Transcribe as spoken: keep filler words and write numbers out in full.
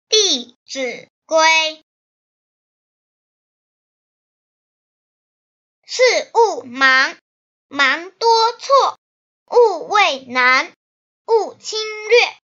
弟子规。事勿忙，忙多错；勿畏难，勿侵略。